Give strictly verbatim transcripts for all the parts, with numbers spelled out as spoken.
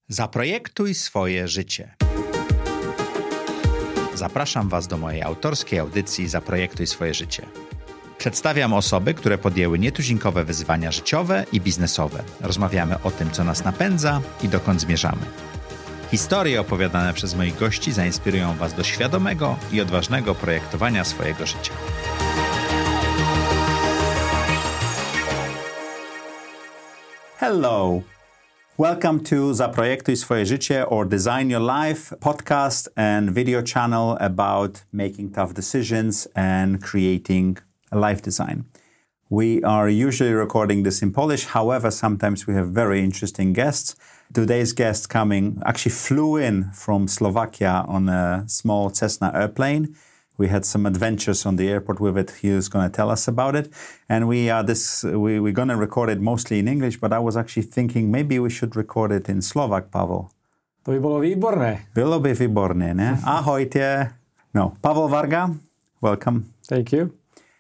Zaprojektuj swoje życie. Zapraszam Was do mojej autorskiej audycji Zaprojektuj swoje życie. Przedstawiam osoby, które podjęły nietuzinkowe wyzwania życiowe i biznesowe. Rozmawiamy o tym, co nas napędza i dokąd zmierzamy. Historie opowiadane przez moich gości zainspirują Was do świadomego i odważnego projektowania swojego życia. Hello! Welcome to Zaprojektuj swoje życie or Design Your Life podcast and video channel about making tough decisions and creating a life design. We are usually recording this in Polish. However, sometimes we have very interesting guests. Today's guest coming actually flew in from Slovakia on a small Cessna airplane. We had some adventures on the airport with it. He was going to tell us about it. And we are this we, we're going to record it mostly in English, but I was actually thinking maybe we should record it in Slovak, Pavel. To by bolo výborné. Bylo by výborné, ne? Ahojte. No, Pavel Varga, welcome. Thank you.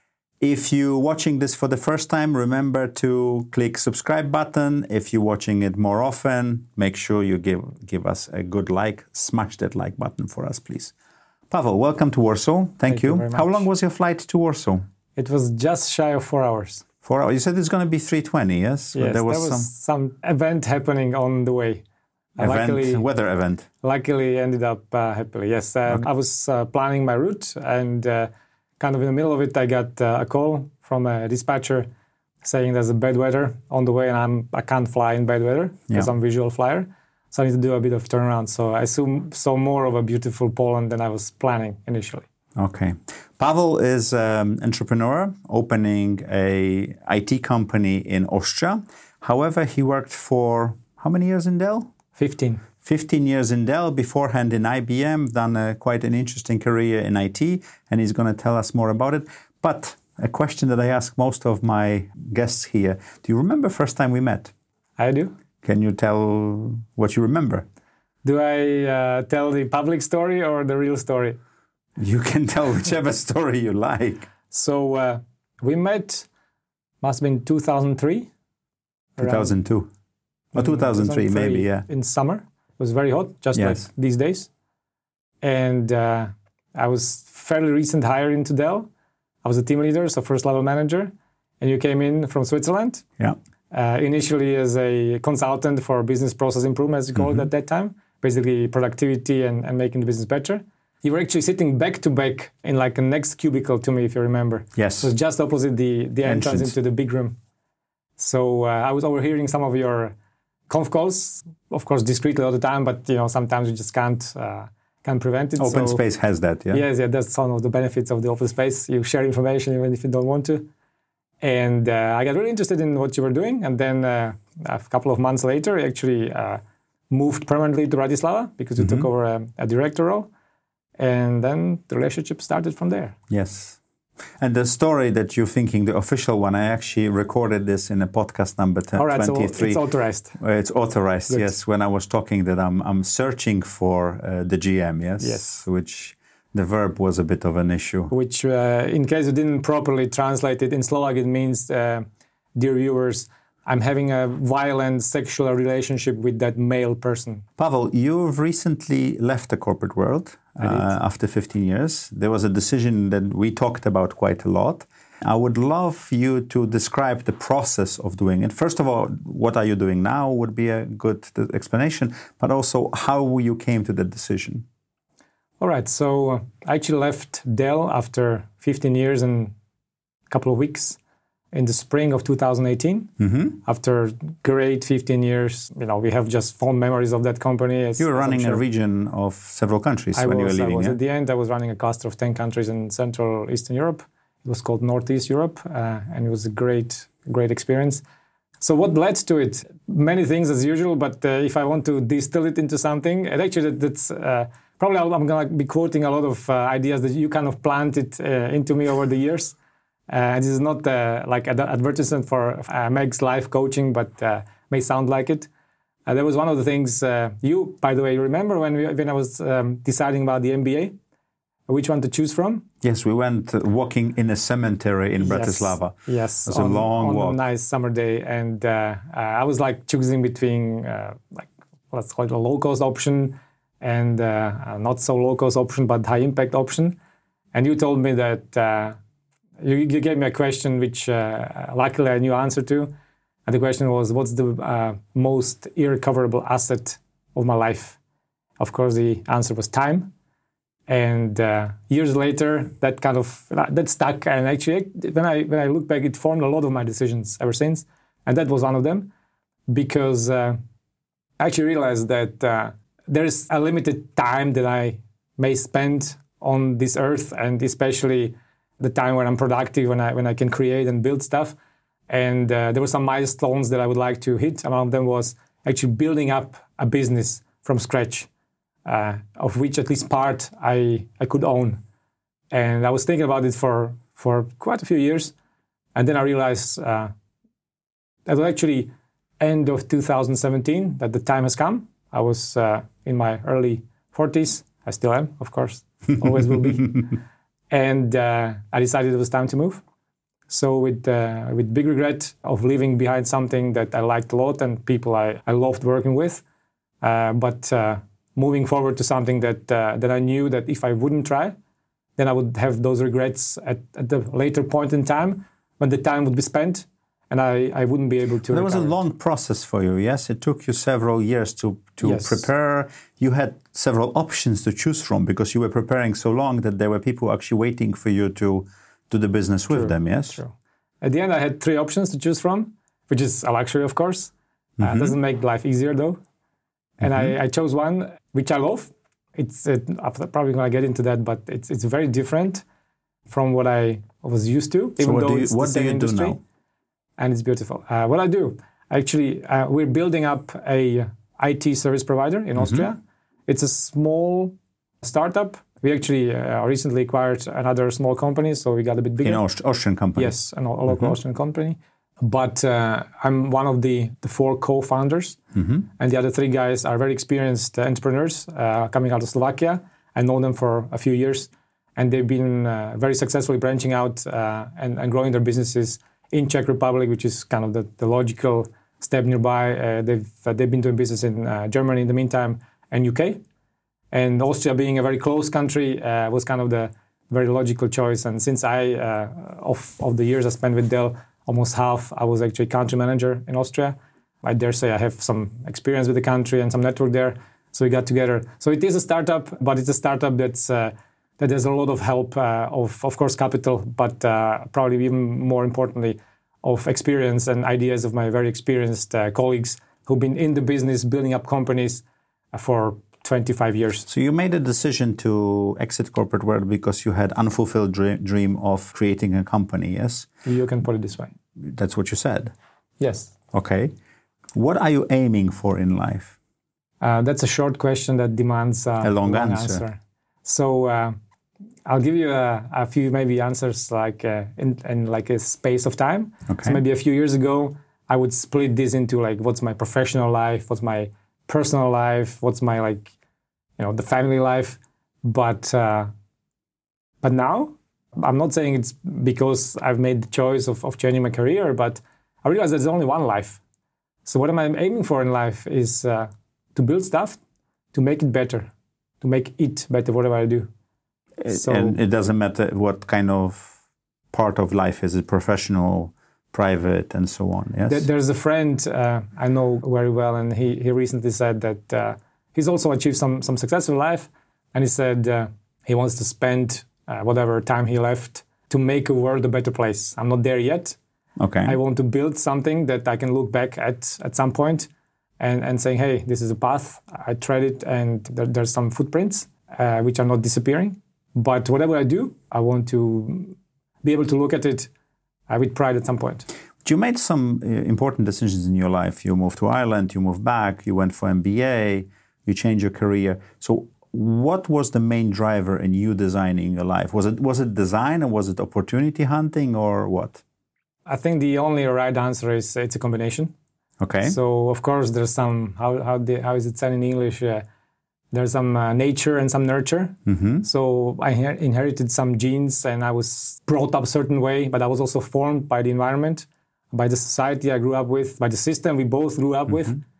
If you're watching this for the first time, remember to click subscribe button. If you're watching it more often, make sure you give give us a good like. Smash that like button for us, please. Pavel, welcome to Warsaw. Thank, Thank you. you. very much. How long was your flight to Warsaw? It was just shy of four hours. Four hours. You said it's going to be three twenty, yes? Yes, there was, there was some some event happening on the way. event, luckily, weather event. luckily ended up uh, happily. Yes, uh, Okay. I was uh, planning my route, and uh, kind of in the middle of it, I got uh, a call from a dispatcher saying there's a bad weather on the way, and I'm I can't fly in bad weather because Yeah. I'm a visual flyer. So I need to do a bit of turnaround. So I assume saw more of a beautiful Poland than I was planning initially. Okay. Pavel is an entrepreneur opening a I T company in Austria. However, he worked for how many years in Dell? Fifteen. fifteen years in Dell, beforehand in I B M, done a, quite an interesting career in I T, and he's going to tell us more about it. But a question that I ask most of my guests here, do you remember first time we met? I do. Can you tell what you remember? Do I uh, tell the public story or the real story? You can tell whichever story you like. So uh, we met, must have been two thousand three. two thousand two. Or two thousand three, maybe, yeah. In summer. It was very hot, just Yes. like these days. And uh, I was fairly recent hire into Dell. I was a team leader, so first level manager. And you came in from Switzerland. Yeah. Uh, initially as a consultant for business process improvement, as you call Mm-hmm. it at that time. Basically productivity and, and making the business better. You were actually sitting back to back in like a next cubicle to me, if you remember. Yes. It was just opposite the, the entrance, Entrance. into the big room. So uh, I was overhearing some of your conf calls, of course, discreetly all the time, but you know sometimes you just can't uh, can't prevent it. Open so, space has that, yeah? Yes, yeah, that's some of the benefits of the open space. You share information even if you don't want to. And uh, I got really interested in what you were doing. And then uh, a couple of months later, I actually uh, moved permanently to Bratislava because you Mm-hmm. took over a, a director role. And then the relationship started from there. Yes. And the story that you're thinking, the official one, I actually recorded this in a podcast number t- All right, twenty-three. so it's authorized. Uh, It's authorized, Good. yes. When I was talking that I'm I'm searching for uh, the G M, yes? Yes. Which the verb was a bit of an issue. Which, uh, in case you didn't properly translate it, in Slovak it means, uh, dear viewers, I'm having a violent sexual relationship with that male person. Pavel, you've recently left the corporate world uh, after fifteen years. There was a decision that we talked about quite a lot. I would love you to describe the process of doing it. First of all, what are you doing now would be a good explanation, but also how you came to that decision. All right, so uh, I actually left Dell after fifteen years and a couple of weeks in the spring of two thousand eighteen. Mm-hmm. After great fifteen years, you know, we have just fond memories of that company. As, You were as I'm running sure. a region of several countries I when was, you were I leaving, was. yeah? At the end, I was running a cluster of ten countries in Central Eastern Europe. It was called Northeast Europe, uh, and it was a great, great experience. So what led to it? Many things as usual, but uh, if I want to distill it into something, and actually that, that's uh, probably I'm going to be quoting a lot of uh, ideas that you kind of planted uh, into me over the years. Uh, this is not uh, like an advertisement for uh, Meg's life coaching, but uh, may sound like it. Uh, that was one of the things uh, you, by the way, you remember when we, when I was um, deciding about the M B A? Which one to choose from? Yes, we went uh, walking in a cemetery in Yes. Bratislava. Yes, It was a on, long on walk. a nice summer day, and uh, uh, I was like choosing between uh, like let's call it a low-cost option, and uh, a not so low-cost option, but high-impact option. And you told me that uh, you, you gave me a question which uh, luckily I knew the answer to. And the question was, what's the uh, most irrecoverable asset of my life? Of course, the answer was time. And uh, years later, that kind of, that stuck. And actually, when I when I look back, it formed a lot of my decisions ever since. And that was one of them. Because uh, I actually realized that uh, there is a limited time that I may spend on this earth, and especially the time when I'm productive, when I when I can create and build stuff. And uh, there were some milestones that I would like to hit. One of them was actually building up a business from scratch, uh, of which at least part I, I could own. And I was thinking about it for, for quite a few years. And then I realized uh, that was actually end of two thousand seventeen, that the time has come. I was uh, in my early forties. I still am, of course, always will be. And uh, I decided it was time to move. So with uh, with big regret of leaving behind something that I liked a lot and people I, I loved working with, uh, but uh, moving forward to something that uh, that I knew that if I wouldn't try, then I would have those regrets at, at the later point in time when the time would be spent and I, I wouldn't be able to There was a recover. long process for you, yes? It took you several years to, to Yes. prepare. You had several options to choose from because you were preparing so long that there were people actually waiting for you to do the business with True. them, yes? True. At the end, I had three options to choose from, which is a luxury, of course. Mm-hmm. Uh, doesn't make life easier, though. And Mm-hmm. I, I chose one which I love. It's uh, I'm probably going to get into that, but it's it's very different from what I was used to, So even what though do you, it's what the do same you industry. do now? And it's beautiful. Uh, what I do, actually, uh, we're building up a I T service provider in Mm-hmm. Austria. It's a small startup. We actually uh, recently acquired another small company, so we got a bit bigger. In Aust- Austrian company? Yes, a local Mm-hmm. Austrian company. But uh, I'm one of the, the four co-founders, Mm-hmm. and the other three guys are very experienced uh, entrepreneurs uh, coming out of Slovakia. I know them for a few years, and they've been uh, very successfully branching out uh, and, and growing their businesses in Czech Republic, which is kind of the, the logical step nearby. Uh, they've uh, they've been doing business in uh, Germany in the meantime and U K. And Austria, being a very close country, uh, was kind of the very logical choice. And since I, uh, of, of the years I spent with Dell, almost half, I was actually country manager in Austria. I dare say I have some experience with the country and some network there. So we got together. So it is a startup, but it's a startup that's uh, that has a lot of help uh, of, of course, capital, but uh, probably even more importantly, of experience and ideas of my very experienced uh, colleagues who've been in the business, building up companies uh, for twenty-five years. So you made a decision to exit corporate world because you had unfulfilled dream, dream of creating a company, yes? You can put it this way. That's what you said. Yes. Okay. What are you aiming for in life? Uh, that's a short question that demands uh, A long answer. So uh, I'll give you a, a few maybe answers like uh, in, in like a space of time. Okay. So maybe a few years ago, I would split this into like what's my professional life, what's my personal life, what's my like, you know, the family life. But uh, but now, I'm not saying it's because I've made the choice of, of changing my career, but I realize there's only one life. So what am I aiming for in life is uh, to build stuff, to make it better, to make it better, whatever I do. So, And it doesn't matter what kind of part of life is it, professional, private, and so on, yes? Th- there's a friend uh, I know very well, and he, he recently said that uh, he's also achieved some, some success in life, and he said uh, he wants to spend uh, whatever time he left to make a world a better place. I'm not there yet. Okay. I want to build something that I can look back at at some point and, and saying, hey, this is a path. I tread it, and there, there's some footprints uh, which are not disappearing. But whatever I do, I want to be able to look at it uh, with pride at some point. You made some uh, important decisions in your life. You moved to Ireland, you moved back, you went for M B A, you changed your career. So what was the main driver in you designing your life? Was it was it design, or was it opportunity hunting, or what? I think the only right answer is it's a combination. Okay. So, of course, there's some, how how, the, how is it said in English? Uh, there's some uh, nature and some nurture. Mm-hmm. So I her- inherited some genes, and I was brought up a certain way, but I was also formed by the environment, by the society I grew up with, by the system we both grew up with.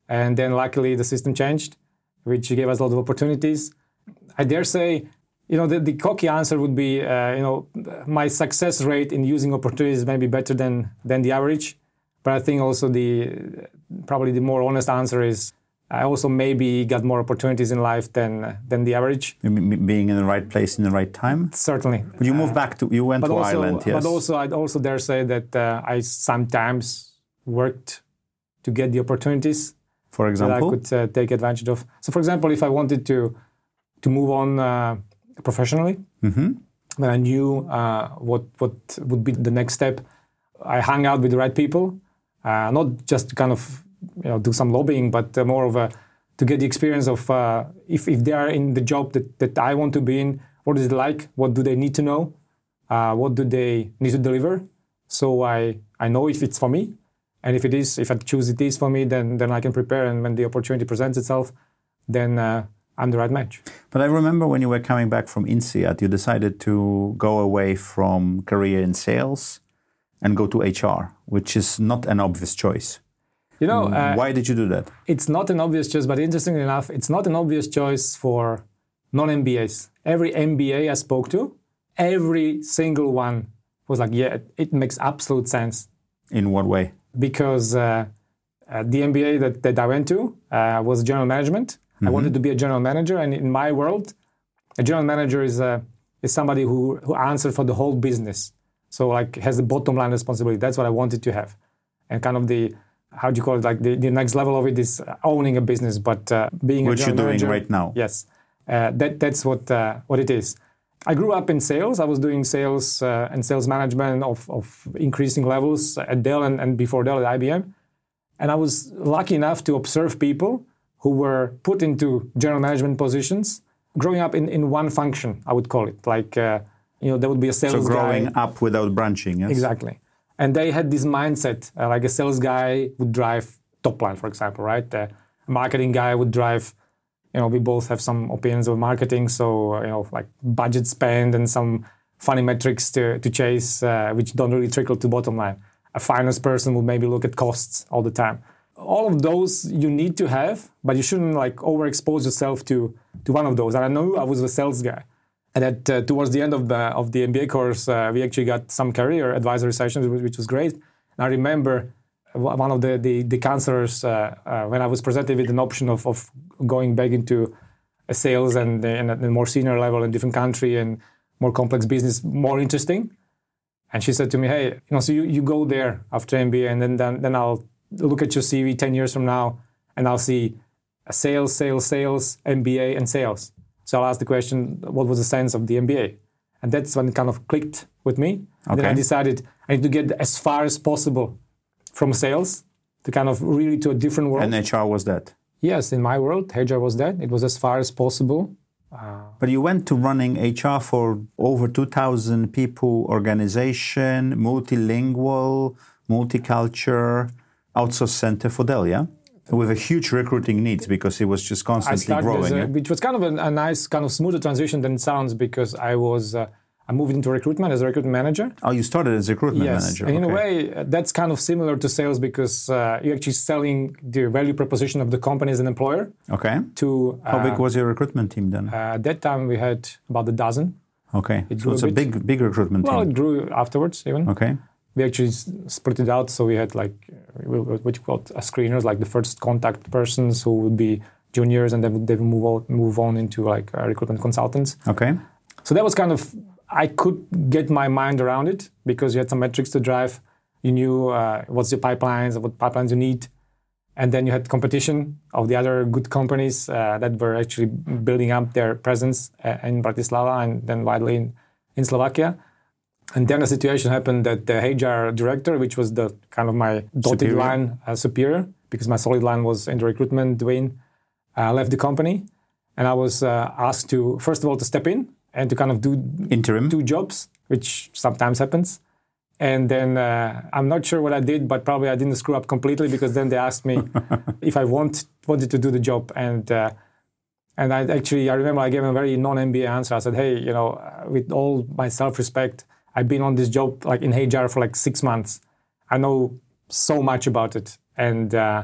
And then luckily the system changed, which gave us a lot of opportunities. I dare say, you know, the, the cocky answer would be, uh, you know, my success rate in using opportunities may be better than than the average. But I think also the probably the more honest answer is I also maybe got more opportunities in life than than the average. Being in the right place in the right time? Certainly. But you moved back to, you went to also, Ireland, yes. But also, I'd also dare say that uh, I sometimes worked to get the opportunities. For example? That I could uh, take advantage of. So for example, if I wanted to to move on uh, professionally, mm-hmm. when I knew uh, what what would be the next step, I hung out with the right people, uh, not just to kind of you know do some lobbying, but uh, more of a to get the experience of uh, if if they are in the job that, that I want to be in, what is it like? What do they need to know? Uh, what do they need to deliver? So I I know if it's for me, and if it is, if I choose it is for me, then then I can prepare. And when the opportunity presents itself, then uh, I'm the right match. But I remember when you were coming back from INSEAD, you decided to go away from career in sales and go to H R, which is not an obvious choice. You know, uh, why did you do that? It's not an obvious choice, but interestingly enough, it's not an obvious choice for non-M B As. Every M B A I spoke to, every single one was like, yeah, it makes absolute sense. In what way? Because uh, uh, the M B A that, that I went to uh, was general management. Mm-hmm. I wanted to be a general manager, and in my world, a general manager is uh, is somebody who who answers for the whole business. So like has the bottom line responsibility. That's what I wanted to have, and kind of the how do you call it? Like the, the next level of it is owning a business, but uh, being which a general you're doing manager, right now. Yes, uh, that that's what uh, what it is. I grew up in sales. I was doing sales uh, and sales management of, of increasing levels at Dell and, and before Dell at I B M. And I was lucky enough to observe people who were put into general management positions, growing up in, in one function, I would call it. Like, uh, you know, there would be a sales guy. So growing guy. up without branching, yes? Exactly. And they had this mindset, uh, like a sales guy would drive top line, for example, right? Uh, a marketing guy would drive, you know, we both have some opinions of marketing, so, uh, you know, like budget spend and some funny metrics to, to chase, uh, which don't really trickle to bottom line. A finance person would maybe look at costs all the time. All of those you need to have, but you shouldn't like overexpose yourself to, to one of those. And I know I was a sales guy. And at, uh, towards the end of the of the M B A course, uh, we actually got some career advisory sessions, which was great. And I remember one of the, the, the counselors, uh, uh, when I was presented with an option of, of going back into a sales and, and a more senior level in a different country and more complex business, more interesting. And she said to me, hey, you know, so you, you go there after M B A, and then, then then I'll look at your C V ten years from now, and I'll see a sales, sales, sales, M B A, and sales. So I'll ask the question, what was the sense of the M B A? And that's when it kind of clicked with me. And okay. then I decided I need to get as far as possible from sales to kind of really to a different world. And H R was that? Yes, in my world, H R was that. It was as far as possible. Uh, but you went to running H R for over two thousand people organization, multilingual, multicultural, outsource center for Dell, yeah? With a huge recruiting needs because it was just constantly growing. A, yeah? Which was kind of a, a nice, kind of smoother transition than it sounds because I was, uh, I moved into recruitment as a recruitment manager. Oh, you started as a recruitment yes. manager. And in okay. a way, uh, that's kind of similar to sales because uh, you're actually selling the value proposition of the company as an employer. Okay. To uh, How big was your recruitment team then? Uh, at that time, we had about a dozen. Okay. It so it's a, a big, big recruitment well, team. Well, it grew afterwards even. Okay. We actually split it out, so we had like what you call screeners, like the first contact persons who would be juniors, and then they would move on, move on into like uh, recruitment consultants. Okay. So that was kind of I could get my mind around it because you had some metrics to drive. You knew uh, what's your pipelines, what pipelines you need, and then you had competition of the other good companies uh, that were actually building up their presence uh, in Bratislava and then widely in, in Slovakia. And then a situation happened that the H R director, which was the kind of my dotted superior. line uh, superior, because my solid line was in the recruitment wing, uh, left the company. And I was uh, asked to, first of all, to step in and to kind of do interim two jobs, which sometimes happens. And then uh, I'm not sure what I did, but probably I didn't screw up completely because then they asked me if I want, wanted to do the job. And uh, and I actually, I remember I gave a very non-M B A answer. I said, hey, you know, uh, with all my self-respect, I've been on this job like in H R for like six months. I know so much about it. And uh,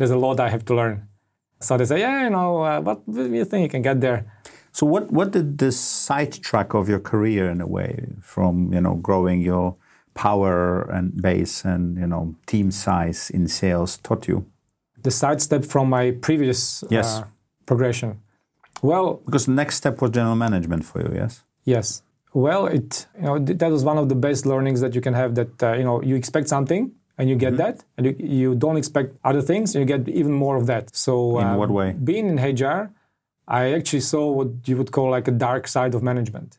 there's a lot I have to learn. So they say, yeah, you know, uh, but you think you can get there. So what, what did this sidetrack of your career in a way from, you know, growing your power and base and, you know, team size in sales taught you? The sidestep from my previous yes. uh, progression. Well, because the next step was general management for you, yes? Yes. Well, it you know th- that was one of the best learnings that you can have. That uh, you know you expect something and you get mm-hmm. that, and you, you don't expect other things, and you get even more of that. So in uh, what way? Being in H R, I actually saw what you would call like a dark side of management.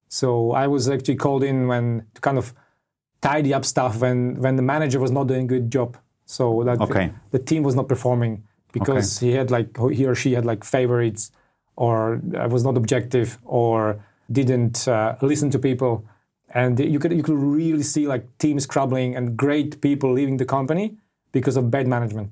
So I was actually called in when to kind of tidy up stuff when when the manager was not doing a good job. So that okay. the, the team was not performing because okay. he had like he or she had like favorites, or was not objective, or didn't uh, listen to people, and you could you could really see like teams crumbling and great people leaving the company because of bad management.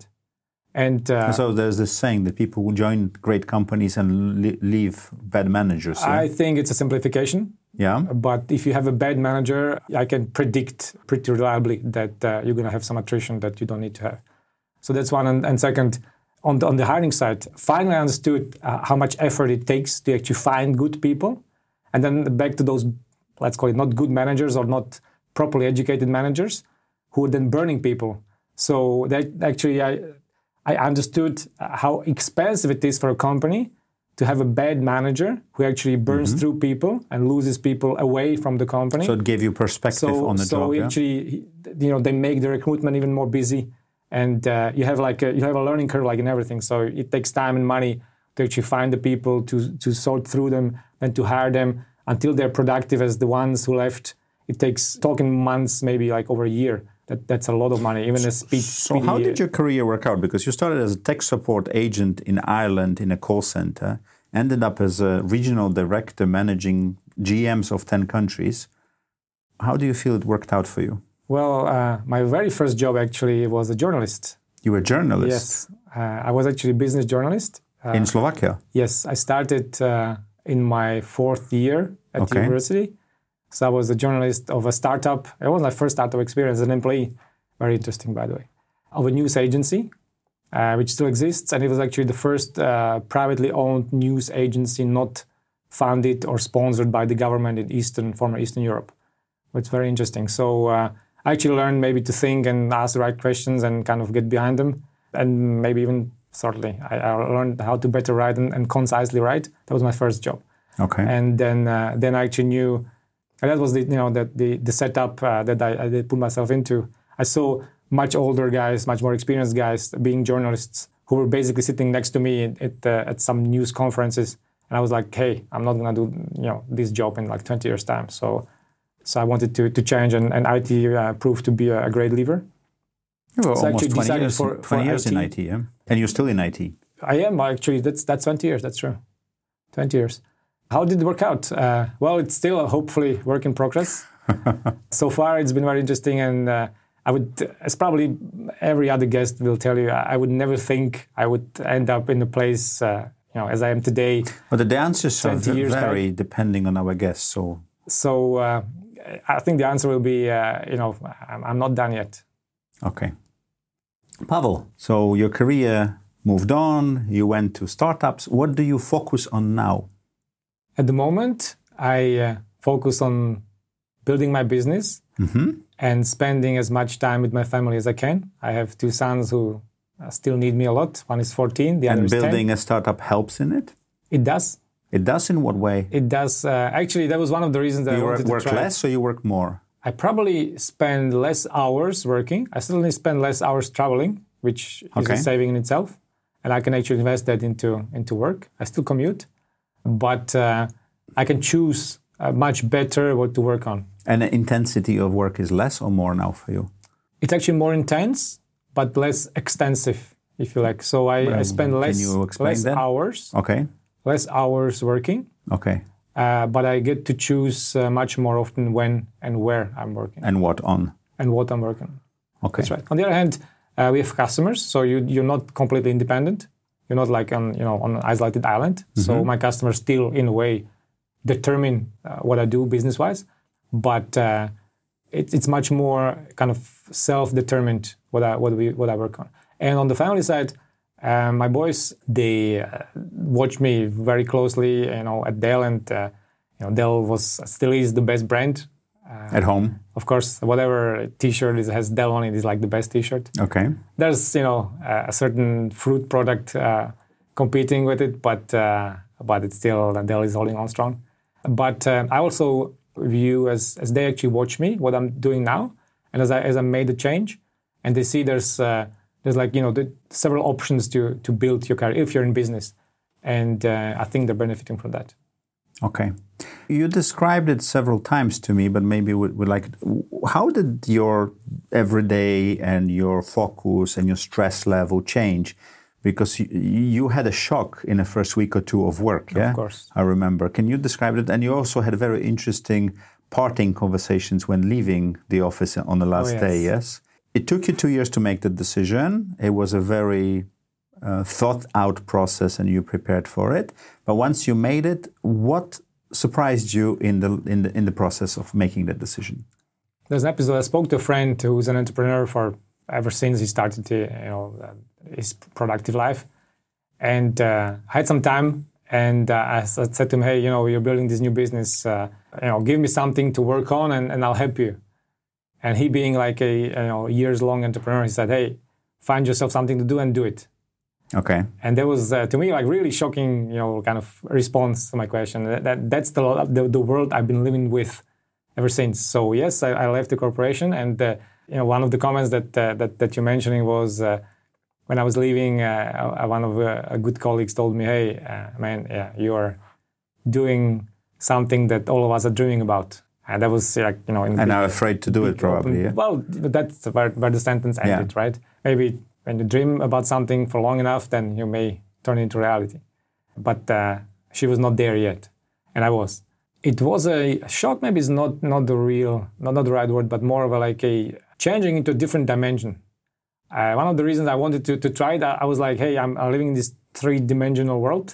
And uh, so there's this saying that people will join great companies and li- leave bad managers. Yeah? I think it's a simplification. Yeah. But if you have a bad manager, I can predict pretty reliably that uh, you're going to have some attrition that you don't need to have. So that's one. And, and second, on the, on the hiring side, finally I understood uh, how much effort it takes to actually find good people. And then back to those, let's call it not good managers or not properly educated managers who are then burning people. So that actually I I understood how expensive it is for a company to have a bad manager who actually burns mm-hmm. through people and loses people away from the company. So it gave you perspective so, on the so job. So actually, yeah? you know, they make the recruitment even more busy, and uh, you have like a, you have a learning curve like in everything. So it takes time and money to actually find the people, to to sort through them, and to hire them until they're productive as the ones who left. It takes talking months, maybe like over a year. That, that's a lot of money, even a speed. So how did your career work out? Because you started as a tech support agent in Ireland in a call center, ended up as a regional director managing G Ms of ten countries. How do you feel it worked out for you? Well, uh, my very first job actually was a journalist. You were a journalist? Yes. Uh, I was actually a business journalist. Uh, in Slovakia? Yes. I started uh, in my fourth year at okay. university. So I was a journalist of a startup. It was my first startup experience as an employee. Very interesting, by the way. Of a news agency, uh, which still exists. And it was actually the first uh, privately owned news agency not funded or sponsored by the government in Eastern, former Eastern Europe. It's very interesting. So uh, I actually learned maybe to think and ask the right questions and kind of get behind them. And maybe even, certainly, I, I learned how to better write and, and concisely write. That was my first job. Okay. And then uh, then I actually knew... And that was the you know that the the setup uh, that I, I did put myself into. I saw much older guys, much more experienced guys being journalists who were basically sitting next to me at at, uh, at some news conferences, and I was like, hey, I'm not gonna do you know this job in like twenty years time. So so I wanted to to change, and, and I T uh, proved to be a, a great lever. You were so almost twenty years, for, twenty for years I T. in I T, yeah? And you're still in I T. I am actually. That's that's twenty years. That's true, twenty years. How did it work out? Uh, well, it's still a hopefully work in progress. So far, it's been very interesting, and uh, I would, as probably every other guest will tell you, I would never think I would end up in the place, uh, you know, as I am today. But the answers are vary back. depending on our guests. So, so uh, I think the answer will be, uh, you know, I'm, I'm not done yet. Okay, Pavel. So your career moved on. You went to startups. What do you focus on now? At the moment, I uh, focus on building my business mm-hmm. and spending as much time with my family as I can. I have two sons who uh, still need me a lot. One is fourteen, the and other is ten. And building a startup helps in it? It does. It does in what way? It does. Uh, actually, that was one of the reasons that you I wanted work to try. less or you work more? I probably spend less hours working. I certainly spend less hours traveling, which is okay. a saving in itself. And I can actually invest that into, into work. I still commute. But uh, I can choose uh, much better what to work on. And the intensity of work is less or more now for you? It's actually more intense, but less extensive, if you like. So I, well, I spend less, less hours, okay. less hours working. Okay. Uh, but I get to choose uh, much more often when and where I'm working. And what on? And what I'm working on. Okay. That's right. On the other hand, uh, we have customers, so you, you're not completely independent. You're not like on, you know, on an isolated island. Mm-hmm. So my customers still, in a way, determine uh, what I do business-wise. But uh, it, it's much more kind of self-determined what I what we what I work on. And on the family side, uh, my boys, they uh, watch me very closely, you know, at Dell, and uh, you know, Dell was still is the best brand. Uh, at home? Of course, whatever T-shirt is, has Dell on it is like the best T-shirt. Okay. There's, you know, a certain fruit product uh, competing with it, but uh, but it's still, Dell is holding on strong. But uh, I also view as as they actually watch me, what I'm doing now, and as I as I made the change, and they see there's uh, there's like, you know, the several options to to build your career if you're in business, and uh, I think they're benefiting from that. Okay. You described it several times to me, but maybe we would like, how did your everyday and your focus and your stress level change? Because you, you had a shock in the first week or two of work, yeah? Of course. I remember. Can you describe it? And you also had very interesting parting conversations when leaving the office on the last oh, yes. day, yes? It took you two years to make the decision. It was a very uh, thought-out process and you prepared for it. But once you made it, what surprised you in the in the in the process of making that decision? There's an episode. I spoke to a friend who's an entrepreneur for ever since he started to, you know, uh, his productive life, and uh, I had some time, and uh, I said to him, "Hey, you know, you're building this new business. Uh, you know, give me something to work on, and, and I'll help you." And he, being like a you know years-long entrepreneur, he said, "Hey, find yourself something to do and do it." Okay. And that was, uh, to me, like really shocking, you know, kind of response to my question. That, that That's the, the the world I've been living with ever since. So yes, I, I left the corporation, and uh, you know, one of the comments that uh, that that you're mentioning was uh, when I was leaving, uh, one of uh, good colleagues told me, "Hey, uh, man, yeah, you are doing something that all of us are dreaming about." And that was like, you know, in and big, are afraid to do it, probably. Open, yeah? Well, that's where, where the sentence ended, yeah. Right? Maybe. When you dream about something for long enough, then you may turn it into reality. But uh, she was not there yet, and I was. It was a shock. Maybe is not not the real, not, not the right word, but more of a, like a changing into a different dimension. Uh, one of the reasons I wanted to to try that, I was like, hey, I'm, I'm living in this three-dimensional world,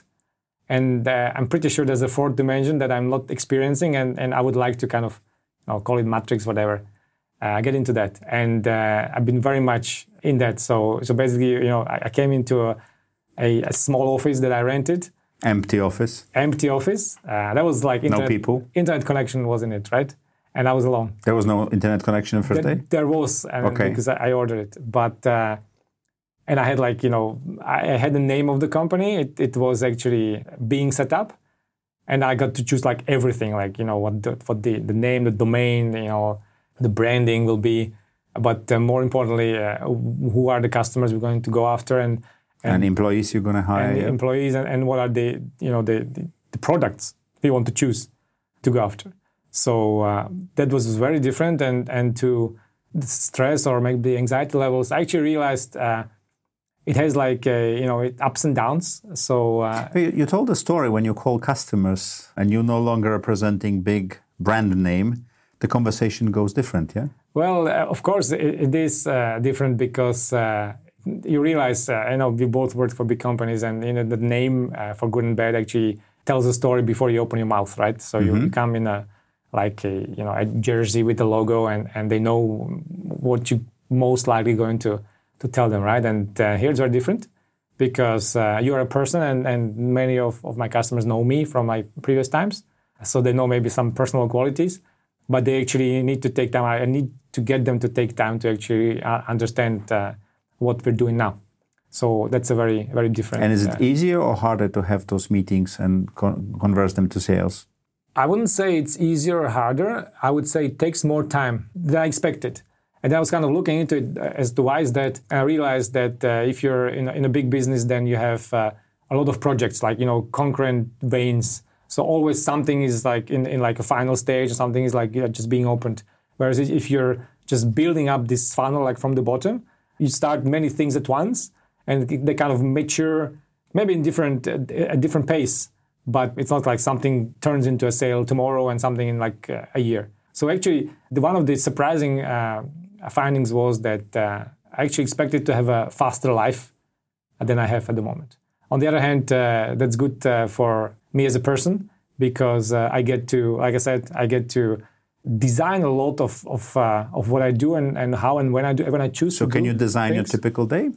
and uh, I'm pretty sure there's a fourth dimension that I'm not experiencing, and, and I would like to kind of, you know, call it Matrix, whatever. Uh, get into that, and uh, I've been very much in that. So, so basically, you know, I, I came into a, a, a small office that I rented. Empty office. Empty office. Uh, that was like internet, no people. Internet connection was in it, right? And I was alone. There was no internet connection the first there, day. There was, and okay. because I, I ordered it, but uh, and I had like you know I, I had the name of the company. It, it was actually being set up, and I got to choose like everything, like you know what the, what the the name, the domain, you know. The branding will be, but uh, more importantly, uh, who are the customers we're going to go after, and and, and employees you're going to hire, and yeah. employees, and, and what are the you know the, the, the products we want to choose to go after. So uh, that was very different, and and to the stress or maybe the anxiety levels, I actually realized uh, it has like uh, you know it ups and downs. So uh, you, you told a story when you call customers and you're no longer representing big brand name. The conversation goes different, yeah? Well, uh, of course, it, it is uh, different because uh, you realize, uh, I know we both work for big companies, and you know the name uh, for good and bad actually tells a story before you open your mouth, right? So mm-hmm. you come in a like a you know a jersey with the logo, and, and they know what you most likely going to to tell them, right? And uh, here it's very different because uh, you are a person, and, and many of, of my customers know me from my previous times, so they know maybe some personal qualities. But they actually need to take time. I need to get them to take time to actually uh, understand uh, what we're doing now. So that's a very, very different. And is it uh, easier or harder to have those meetings and con- convert them to sales? I wouldn't say it's easier or harder. I would say it takes more time than I expected. And I was kind of looking into it as to why is that. And I realized that uh, if you're in a, in a big business, then you have uh, a lot of projects, like, you know, concurrent veins. So always something is like in, in like a final stage, or something is like you know, just being opened. Whereas if you're just building up this funnel like from the bottom, you start many things at once, and they kind of mature, maybe in different a different pace. But it's not like something turns into a sale tomorrow and something in like uh, a year. So actually, the, one of the surprising uh, findings was that uh, I actually expected to have a faster life than I have at the moment. On the other hand, uh, that's good uh, for me as a person, because uh, I get to, like I said, I get to design a lot of of, uh, of what I do, and, and how and when I do when I choose so to do can you design things. your typical day?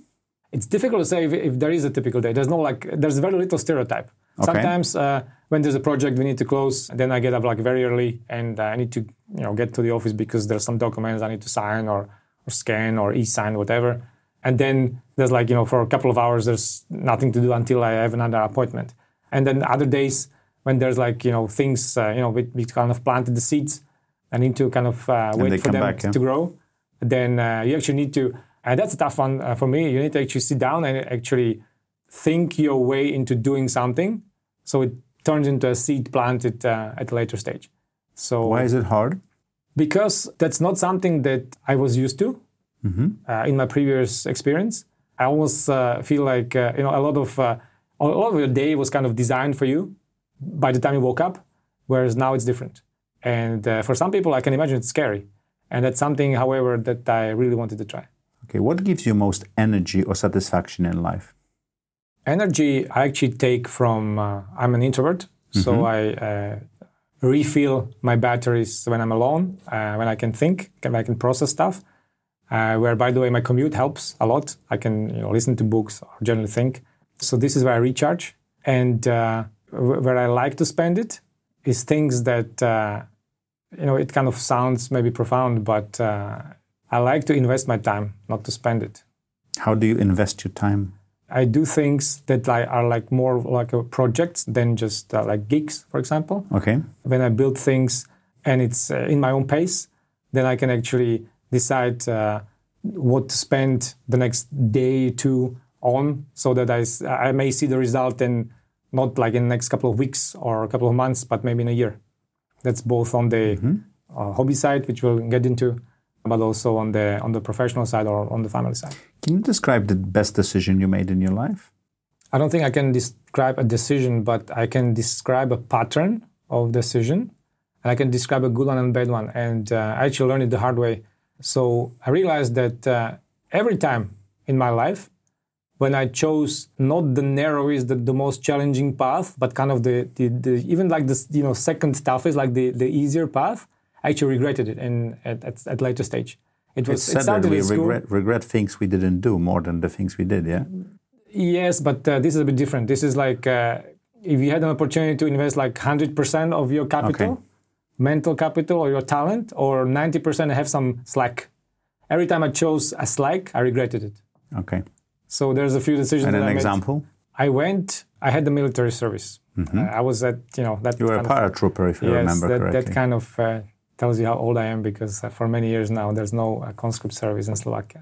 It's difficult to say if, if there is a typical day. There's no like, there's very little stereotype. Okay. Sometimes uh, when there's a project we need to close, then I get up like very early and uh, I need to, you know, get to the office because there's some documents I need to sign or, or scan or e-sign, whatever. And then there's like, you know, for a couple of hours, there's nothing to do until I have another appointment. And then other days when there's like, you know, things, uh, you know, we, we kind of planted the seeds, I need to kind of uh, wait for them back, yeah? to grow. Then uh, you actually need to, and that's a tough one uh, for me, you need to actually sit down and actually think your way into doing something so it turns into a seed planted uh, at a later stage. So why is it hard? Because that's not something that I was used to mm-hmm. uh, in my previous experience. I almost uh, feel like uh, you know a lot of uh, a lot of your day was kind of designed for you by the time you woke up, whereas now it's different. And uh, for some people, I can imagine it's scary, and that's something, however, that I really wanted to try. Okay, what gives you most energy or satisfaction in life? Energy I actually take from, uh, I'm an introvert, mm-hmm. so I uh, refill my batteries when I'm alone, uh, when I can think, when I can process stuff, uh, where, by the way, my commute helps a lot. I can you know, listen to books or generally think. So this is where I recharge. And uh, where I like to spend it is things that, uh, you know, it kind of sounds maybe profound, but uh, I like to invest my time, not to spend it. How do you invest your time? I do things that like, are like more like a projects than just uh, like gigs, for example. Okay. When I build things and it's uh, in my own pace, then I can actually decide uh, what to spend the next day or two on, so that I, I may see the result in not like in the next couple of weeks or a couple of months, but maybe in a year. That's both on the mm-hmm. uh, hobby side, which we'll get into, but also on the on the professional side or on the family side. Can you describe the best decision you made in your life? I don't think I can describe a decision, but I can describe a pattern of decision. And I can describe a good one and a bad one. And uh, I actually learned it the hard way. So I realized that uh, every time in my life, when I chose not the narrowest, the, the most challenging path, but kind of the, the, the even like this, you know, second toughest, like the, the easier path, I actually regretted it in, at, at, at later stage. It was it's said that we regret, regret things we didn't do more than the things we did, yeah? Yes, but uh, this is a bit different. This is like, uh, if you had an opportunity to invest like one hundred percent of your capital, okay. mental capital or your talent, or ninety percent have some slack. Every time I chose a slack, I regretted it. Okay. So there's a few decisions and that an I made. example? I went, I had the military service. Mm-hmm. Uh, I was at, you know, that You were a paratrooper, if you yes, remember that, correctly. that kind of uh, tells you how old I am, because uh, for many years now, there's no uh, conscript service in Slovakia.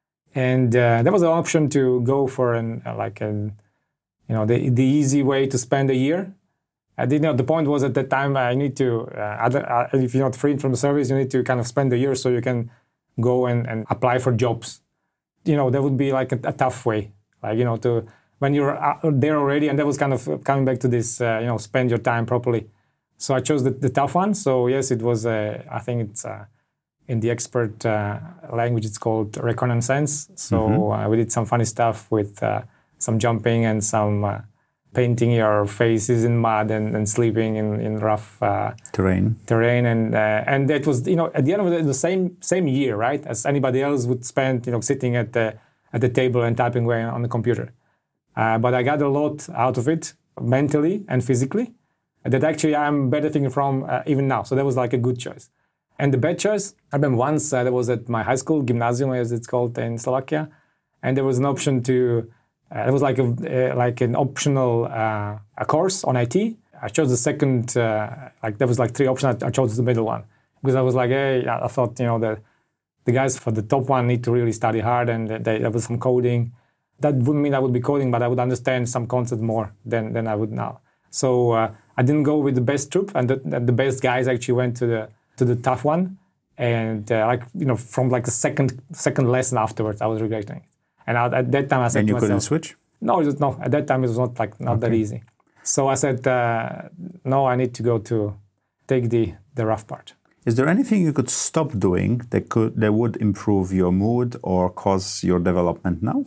And uh, there was an option to go for an, uh, like an, you know, the the easy way to spend a year. I did not, the point was at that time, I need to, uh, other, uh, if you're not freed from the service, you need to kind of spend a year so you can go and, and apply for jobs. You know, that would be like a, a tough way. Like, you know, to when you're there already, and that was kind of coming back to this, uh, you know, spend your time properly. So I chose the, the tough one. So yes, it was, uh, I think it's, uh, in the expert uh, language, it's called reconnaissance. So mm-hmm. uh, we did some funny stuff with uh, some jumping and some uh, painting your faces in mud and, and sleeping in, in rough uh, terrain. Terrain, and uh, and that was, you know, at the end of the, the same same year, right, as anybody else would spend, you know, sitting at the at the table and typing away on the computer. Uh, but I got a lot out of it, mentally and physically, that actually I'm benefiting from uh, even now. So that was like a good choice. And the bad choice, I remember once uh, that was at my high school, gymnasium as it's called in Slovakia, and there was an option to, uh, it was like a uh, like an optional uh, a course on I T. I chose the second, uh, like there was like three options, I chose the middle one. Because I was like, hey, I thought, you know, the, the guys for the top one need to really study hard, and they, there was some coding. That wouldn't mean I would be coding, but I would understand some concept more than, than I would now. So uh, I didn't go with the best troop, and the, the best guys actually went to the to the tough one, and uh, like, you know, from like the second second lesson afterwards, I was regretting it. And I, at that time, I said and you to myself, couldn't switch? No, it was, no. At that time, it was not like not okay. that easy. So I said, uh, no, I need to go to take the the rough part. Is there anything you could stop doing that could that would improve your mood or cause your development now?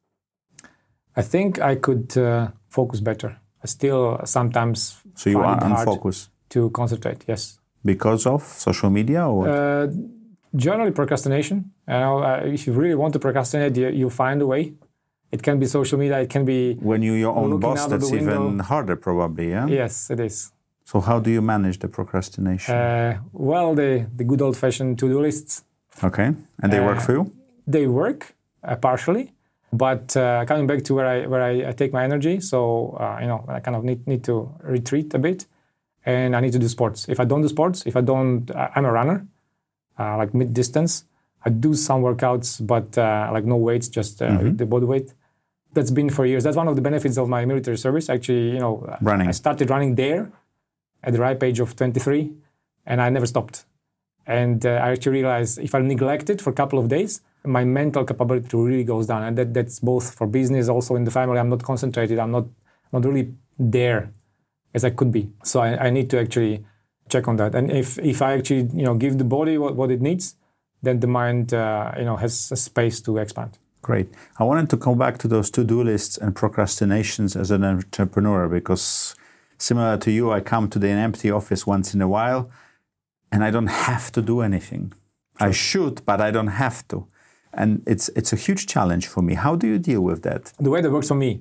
I think I could uh, focus better. I still sometimes so you find are it hard unfocused to concentrate. Yes. Because of social media or what? Uh, generally procrastination. You know, uh, if you really want to procrastinate, you, you find a way. It can be social media. It can be when you're your own looking boss. out of the That's even window. harder, probably. Yeah. Yes, it is. So how do you manage the procrastination? Uh, well, the the good old-fashioned to-do lists. Okay, and they work uh, for you? They work uh, partially, but uh, coming back to where I where I, I take my energy. So uh, you know, I kind of need need to retreat a bit, and I need to do sports. If I don't do sports, if I don't, I'm a runner, uh, like mid distance. I do some workouts, but uh, like no weights, just uh, mm-hmm. the body weight. That's been for years. That's one of the benefits of my military service. Actually, you know, running. I started running there at the ripe age of twenty-three, and I never stopped. And uh, I actually realized if I neglect it for a couple of days, my mental capability really goes down. And that, that's both for business, also in the family. I'm not concentrated. I'm not not really there as I could be. So I, I need to actually check on that. And if if I actually you know give the body what, what it needs, then the mind uh, you know has a space to expand. Great. I wanted to come back to those to-do lists and procrastinations as an entrepreneur, because similar to you, I come to the empty office once in a while and I don't have to do anything. Sure. I should, but I don't have to. And it's it's a huge challenge for me. How do you deal with that? The way that works for me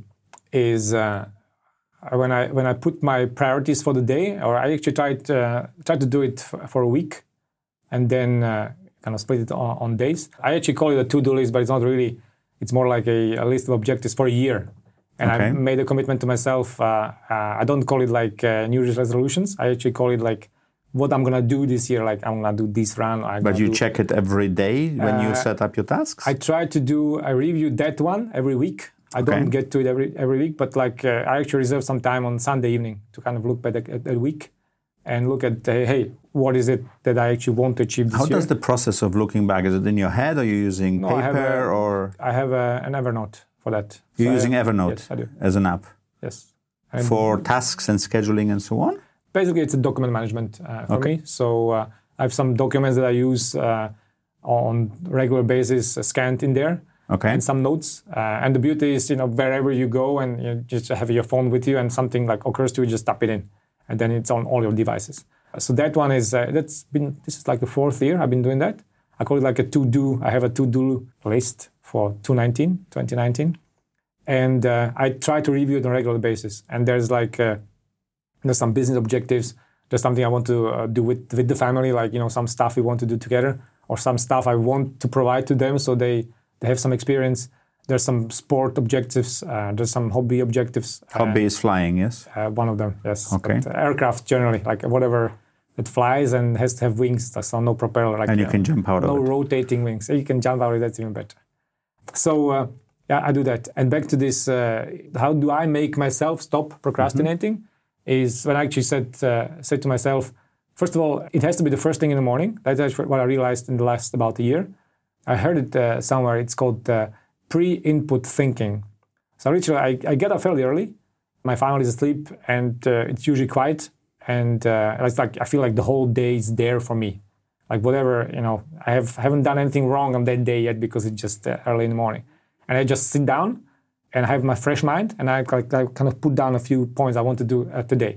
is uh, when I when I put my priorities for the day, or I actually try to, uh, try to do it for, for a week and then uh, kind of split it on, on days. I actually call it a to-do list, but it's not really. It's more like a, a list of objectives for a year. And okay. I made a commitment to myself. Uh, uh, I don't call it like uh, New Year's resolutions. I actually call it like what I'm going to do this year. Like I'm going to do this run. I'm but you do, check it every day when uh, you set up your tasks? I try to do, I review that one every week. I okay. don't get to it every every week, but like uh, I actually reserve some time on Sunday evening to kind of look back at the week and look at, uh, hey, what is it that I actually want to achieve this How year? does the process of looking back, is it in your head? Are you using no, paper I have a, or? I have a, an Evernote for that. You're so using I, Evernote yes, I do. as an app? Yes. And for tasks and scheduling and so on? Basically, it's a document management uh, for okay. me. So uh, I have some documents that I use uh, on regular basis, uh, scanned in there. Okay. And some notes. Uh, and the beauty is, you know, wherever you go and you just have your phone with you and something like occurs to you, just tap it in. And then it's on all your devices. So that one is, uh, that's been, this is like the fourth year I've been doing that. I call it like a to-do. I have a to-do list for twenty nineteen. And uh, I try to review it on a regular basis. And there's like, uh, there's some business objectives. There's something I want to uh, do with, with the family, like, you know, some stuff we want to do together or some stuff I want to provide to them so they, they have some experience. There's some sport objectives. Uh, there's some hobby objectives. Hobby uh, is flying, yes? Uh, one of them, yes. Okay. But, uh, aircraft generally, like whatever that flies and has to have wings, so no propeller. Like, and you uh, can jump out no of it. No rotating wings. You can jump out of it, that's even better. So, uh, yeah, I do that. And back to this, uh, how do I make myself stop procrastinating? Mm-hmm. Is when I actually said, uh, said to myself, first of all, it has to be the first thing in the morning. That's actually what I realized in the last about a year. I heard it uh, somewhere. It's called uh, pre-input thinking. So literally, I, I get up fairly early. My family is asleep, and uh, it's usually quiet. And uh, it's like I feel like the whole day is there for me. Like whatever, you know, I have haven't done anything wrong on that day yet because it's just uh, early in the morning. And I just sit down and I have my fresh mind, and I, like, I kind of put down a few points I want to do uh, today.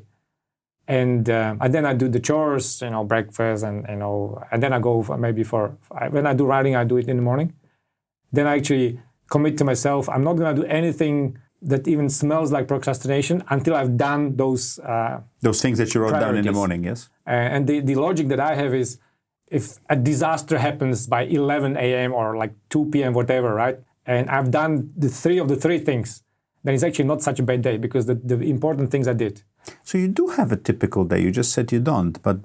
And, uh, and then I do the chores, you know, breakfast, and you know, and then I go for maybe for when I do writing, I do it in the morning. Then I actually commit to myself, I'm not going to do anything that even smells like procrastination until I've done those uh, those things that you wrote priorities. down in the morning, yes. Uh, and the, the logic that I have is, if a disaster happens by eleven a.m. or like two p.m. whatever, right? And I've done the three of the three things, then it's actually not such a bad day because the, the important things I did. So you do have a typical day. You just said you don't, but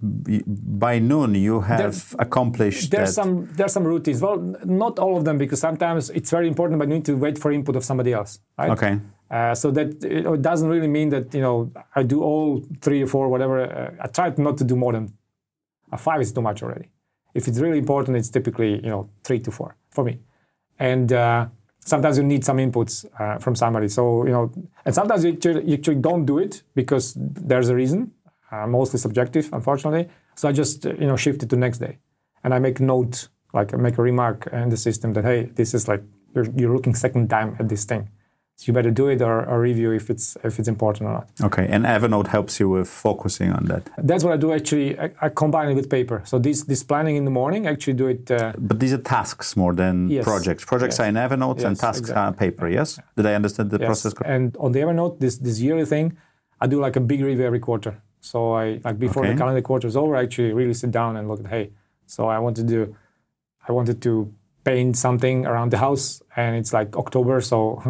by noon you have there, accomplished there's that. Some, there's some routines. Well, not all of them, because sometimes it's very important, but you need to wait for input of somebody else, right? Okay. Uh, so that it doesn't really mean that, you know, I do all three or four, whatever. Uh, I try not to do more than uh, five is too much already. If it's really important, it's typically, you know, three to four for me. And uh, sometimes you need some inputs uh, from somebody. So, you know, and sometimes you actually, you actually don't do it because there's a reason, uh, mostly subjective, unfortunately. So I just, you know, shift it to next day. And I make a note, like I make a remark in the system that, hey, this is like, you're, you're looking second time at this thing. So you better do it or, or review if it's if it's important or not. Okay, and Evernote helps you with focusing on that. That's what I do actually. I, I combine it with paper. So this this planning in the morning, I actually do it. Uh, but these are tasks more than yes. projects. Projects yes. are in Evernote yes, and tasks exactly. are paper, yes? Did I understand the yes. process correctly? And on the Evernote, this this yearly thing, I do like a big review every quarter. So I like before okay. the calendar quarter is over, I actually really sit down and look at, hey, so I want to do, I wanted to paint something around the house, and it's like October, so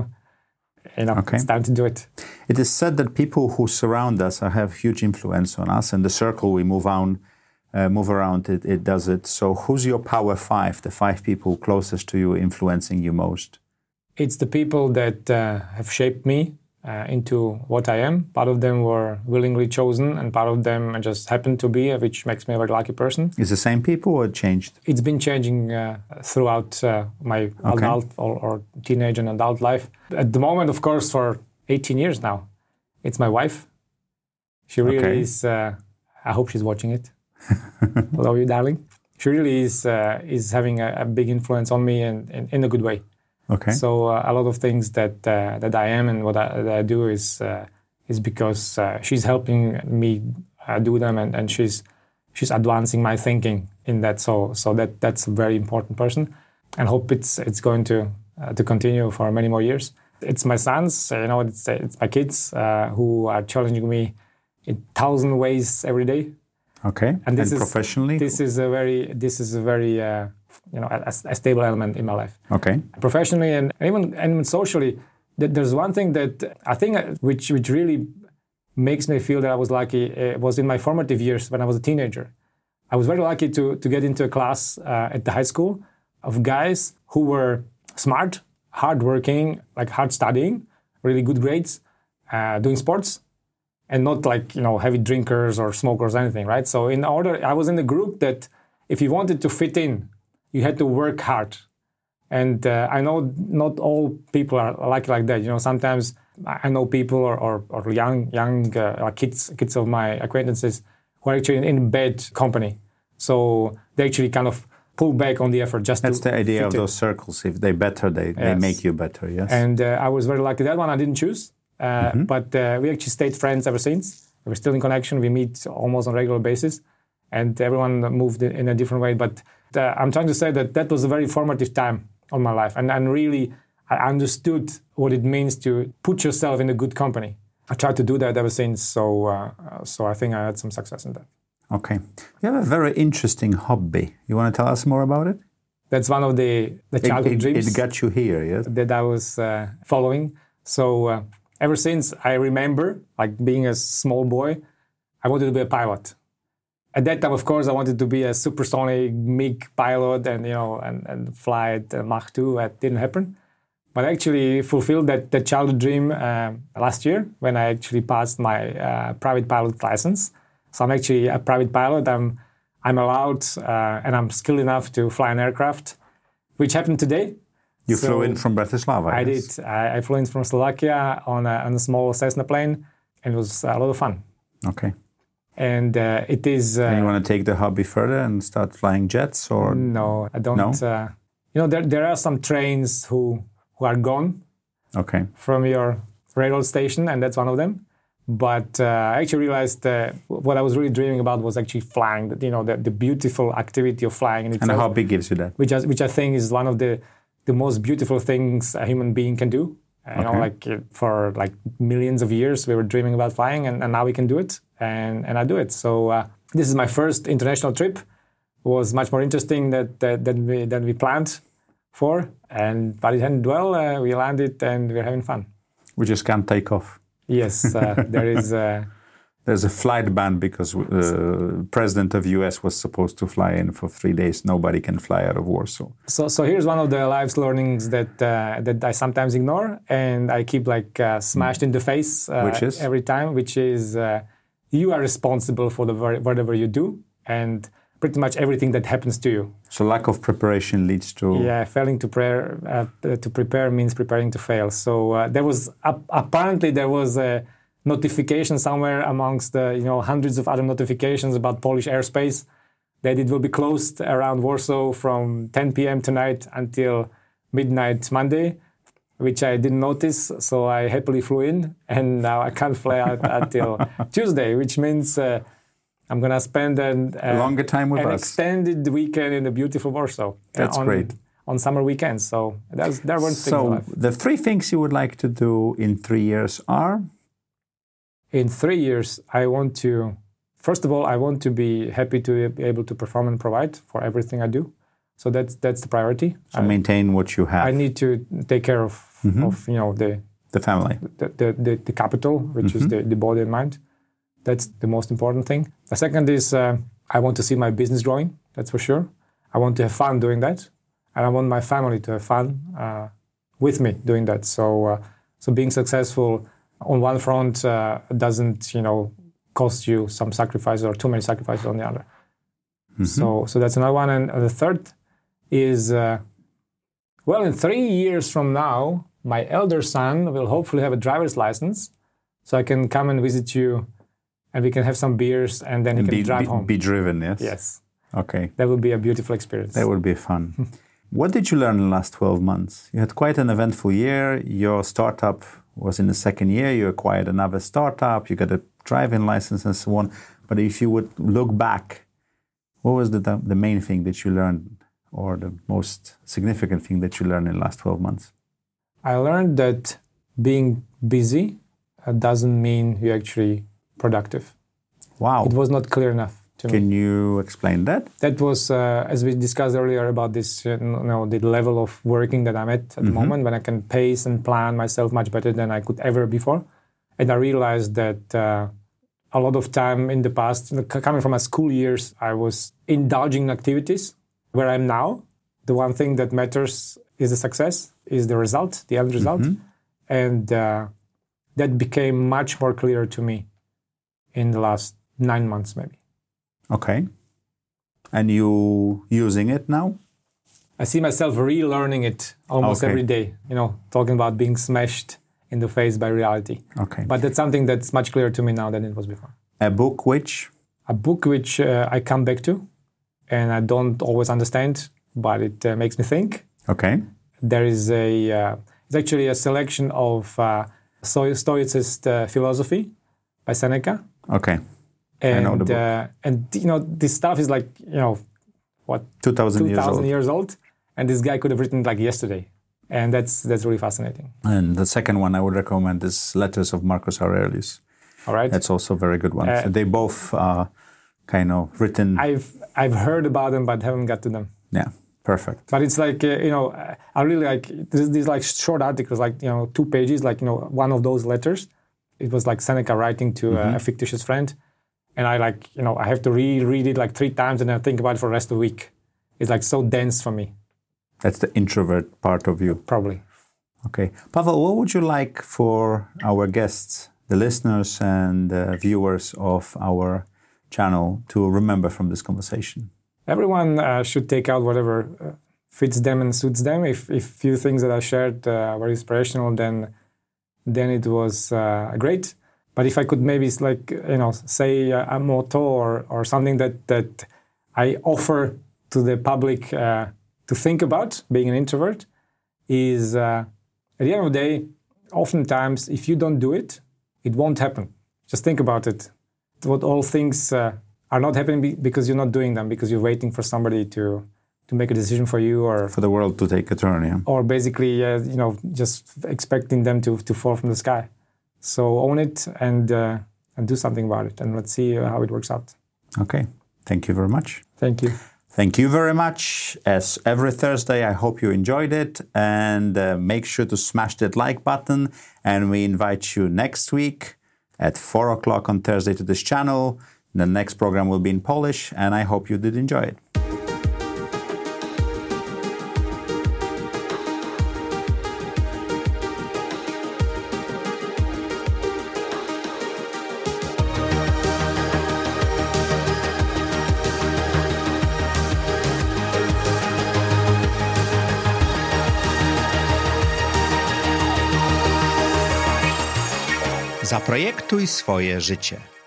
you know, okay. it's time to do it. It is said that people who surround us have huge influence on us, and the circle we move on, uh, move around, it, it does it. So who's your power five, the five people closest to you influencing you most? It's the people that uh, have shaped me uh, into what I am. Part of them were willingly chosen, and part of them just happened to be, which makes me a very lucky person. Is the same people or changed? It's been changing uh, throughout uh, my okay. adult or, or teenage and adult life. At the moment, of course, for eighteen years now, it's my wife. She really okay. is, uh, I hope she's watching it. Love you, darling. She really is uh, is having a, a big influence on me, and, and in a good way. Okay. So uh, a lot of things that uh, that I am and what I, that I do is uh, is because uh, she's helping me uh, do them, and, and she's she's advancing my thinking in that. So so that that's a very important person, and hope it's it's going to uh, to continue for many more years. It's my sons, you know, it's it's my kids uh, who are challenging me in thousand ways every day. Okay. And this and is professionally, this is a very this is a very uh, you know a, a stable element in my life. Okay. Professionally and even and even socially, there's one thing that I think which which really makes me feel that I was lucky. It was in my formative years when I was a teenager. I was very lucky to to get into a class uh, at the high school of guys who were smart, hardworking, like hard studying, really good grades, uh, doing sports, and not like, you know, heavy drinkers or smokers or anything, right? So in order, I was in the group that if you wanted to fit in, you had to work hard. And uh, I know not all people are like like that. You know, sometimes I know people or, or, or young young uh, kids kids of my acquaintances who are actually in, in bad company. So they actually kind of pull back on the effort just That's to the idea of in. those circles. If they better, they, yes. they make you better, yes. And uh, I was very lucky. That one I didn't choose. Uh, mm-hmm. But uh, we actually stayed friends ever since. We're still in connection. We meet almost on a regular basis. And everyone moved in a different way. But uh, I'm trying to say that that was a very formative time of my life. And, and really, I understood what it means to put yourself in a good company. I tried to do that ever since. So, uh, so I think I had some success in that. Okay. You have a very interesting hobby. You want to tell us more about it? That's one of the, the childhood it, it, dreams. It got you here, yes? That I was uh, following. So uh, ever since I remember, like being a small boy, I wanted to be a pilot. At that time, of course, I wanted to be a supersonic MiG pilot and, you know, and, and fly at uh, Mach two. That didn't happen. But I actually fulfilled that, that childhood dream uh, last year when I actually passed my uh, private pilot license. So I'm actually a private pilot. I'm I'm allowed uh, and I'm skilled enough to fly an aircraft, which happened today. You so flew in from Bratislava. I yes? did. I, I flew in from Slovakia on a, on a small Cessna plane, and it was a lot of fun. Okay. And uh, it is... Uh, and you want to take the hobby further and start flying jets? Or No, I don't. No? Uh, you know, there there are some trains who, who are gone okay. from your railroad station, and that's one of them. But uh, I actually realized uh, what I was really dreaming about was actually flying, you know, the, the beautiful activity of flying in itself. And a hobby gives you that? Which I, which I think is one of the, the most beautiful things a human being can do. Uh, you okay. know, like uh, for like millions of years, we were dreaming about flying, and, and now we can do it, and, and I do it. So uh, this is my first international trip. It was much more interesting that, that, than, we, than we planned for, and but it ended well. Uh, we landed, and we're having fun. We just can't take off. Yes, uh, there is... Uh, There's a flight ban because the uh, president of U S was supposed to fly in for three days. Nobody can fly out of Warsaw. So, so here's one of the life's learnings that uh, that I sometimes ignore, and I keep like uh, smashed in the face uh, which is? every time. Which is uh, you are responsible for the whatever you do, and pretty much everything that happens to you. So lack of preparation leads to yeah, failing to prepare. Uh, to prepare means preparing to fail. So uh, there was uh, apparently there was a notification somewhere amongst the, you know, hundreds of other notifications about Polish airspace that it will be closed around Warsaw from ten p.m. tonight until midnight Monday. which I didn't notice. So I happily flew in, and now I can't fly out until Tuesday, which means uh, I'm going to spend an, uh, a longer time with an us. extended weekend in the beautiful Warsaw. That's on, great. On summer weekends. So that's, that one thing. So the three things you would like to do in three years are? In three years, I want to, first of all, I want to be happy to be able to perform and provide for everything I do. So that's that's the priority. So I, maintain what you have. I need to take care of, mm-hmm. of you know, the the family, the the, the, the capital, which mm-hmm. is the, the body and mind. That's the most important thing. The second is uh, I want to see my business growing. That's for sure. I want to have fun doing that, and I want my family to have fun uh, with me doing that. So uh, so being successful on one front uh, doesn't, you know, cost you some sacrifices or too many sacrifices on the other. Mm-hmm. So so that's another one. And the third is, uh, well, in three years from now, my elder son will hopefully have a driver's license, so I can come and visit you, and we can have some beers, and then he and can be, drive be, home. Be driven, yes? Yes. Okay. That would be a beautiful experience. That would be fun. What did you learn in the last twelve months? You had quite an eventful year. Your startup was in the second year. You acquired another startup. You got a driving license and so on. But if you would look back, what was the, the main thing that you learned, or the most significant thing that you learned in the last twelve months? I learned that being busy uh, doesn't mean you're actually productive. Wow. It was not clear enough to me. Can you explain that? That was, uh, as we discussed earlier, about this, uh, you know, the level of working that I'm at at mm-hmm. the moment, when I can pace and plan myself much better than I could ever before. And I realized that uh, a lot of time in the past, coming from my school years, I was indulging in activities. Where I'm now, the one thing that matters is the success, is the result, the end result. Mm-hmm. And uh, that became much more clear to me in the last nine months, maybe. Okay. And you using it now? I see myself relearning it almost okay. every day, you know, talking about being smashed in the face by reality. Okay. But that's something that's much clearer to me now than it was before. A book which? A book which uh, I come back to. And I don't always understand, but it uh, makes me think. Okay. There is a, uh, it's actually a selection of uh, Stoicist uh, philosophy by Seneca. Okay. And, I know the book. Uh, and, you know, this stuff is like, you know, what? two thousand years old. years old. And this guy could have written like yesterday. And that's that's really fascinating. And the second one I would recommend is Letters of Marcus Aurelius. All right. That's also a very good one. Uh, so they both are kind of written... I've I've heard about them, but haven't got to them. Yeah, perfect. But it's like, uh, you know, I really like, these, these like short articles, like, you know, two pages, like, you know, one of those letters. It was like Seneca writing to mm-hmm. a, a fictitious friend. And I like, you know, I have to reread it like three times and then think about it for the rest of the week. It's like so dense for me. That's the introvert part of you. Probably. Okay. Pavel, what would you like for our guests, the listeners and uh, viewers of our channel, to remember from this conversation? Everyone uh, should take out whatever uh, fits them and suits them. If if few things that I shared uh, were inspirational, then then it was uh, great. But if I could maybe like, you know, say a, a motto or or something that that I offer to the public uh, to think about, being an introvert, is uh, at the end of the day, oftentimes if you don't do it, it won't happen. Just think about it. What all things uh, are not happening because you're not doing them, because you're waiting for somebody to to make a decision for you, or for the world to take a turn, yeah. Or basically, uh, you know, just expecting them to to fall from the sky. So own it and uh, and do something about it, and let's see uh, how it works out. Okay, thank you very much. Thank you. Thank you very much. As every Thursday, I hope you enjoyed it, and uh, make sure to smash that like button. And we invite you next week at four o'clock on Thursday to this channel. The next program will be in Polish, and I hope you did enjoy it. Zaprojektuj swoje życie.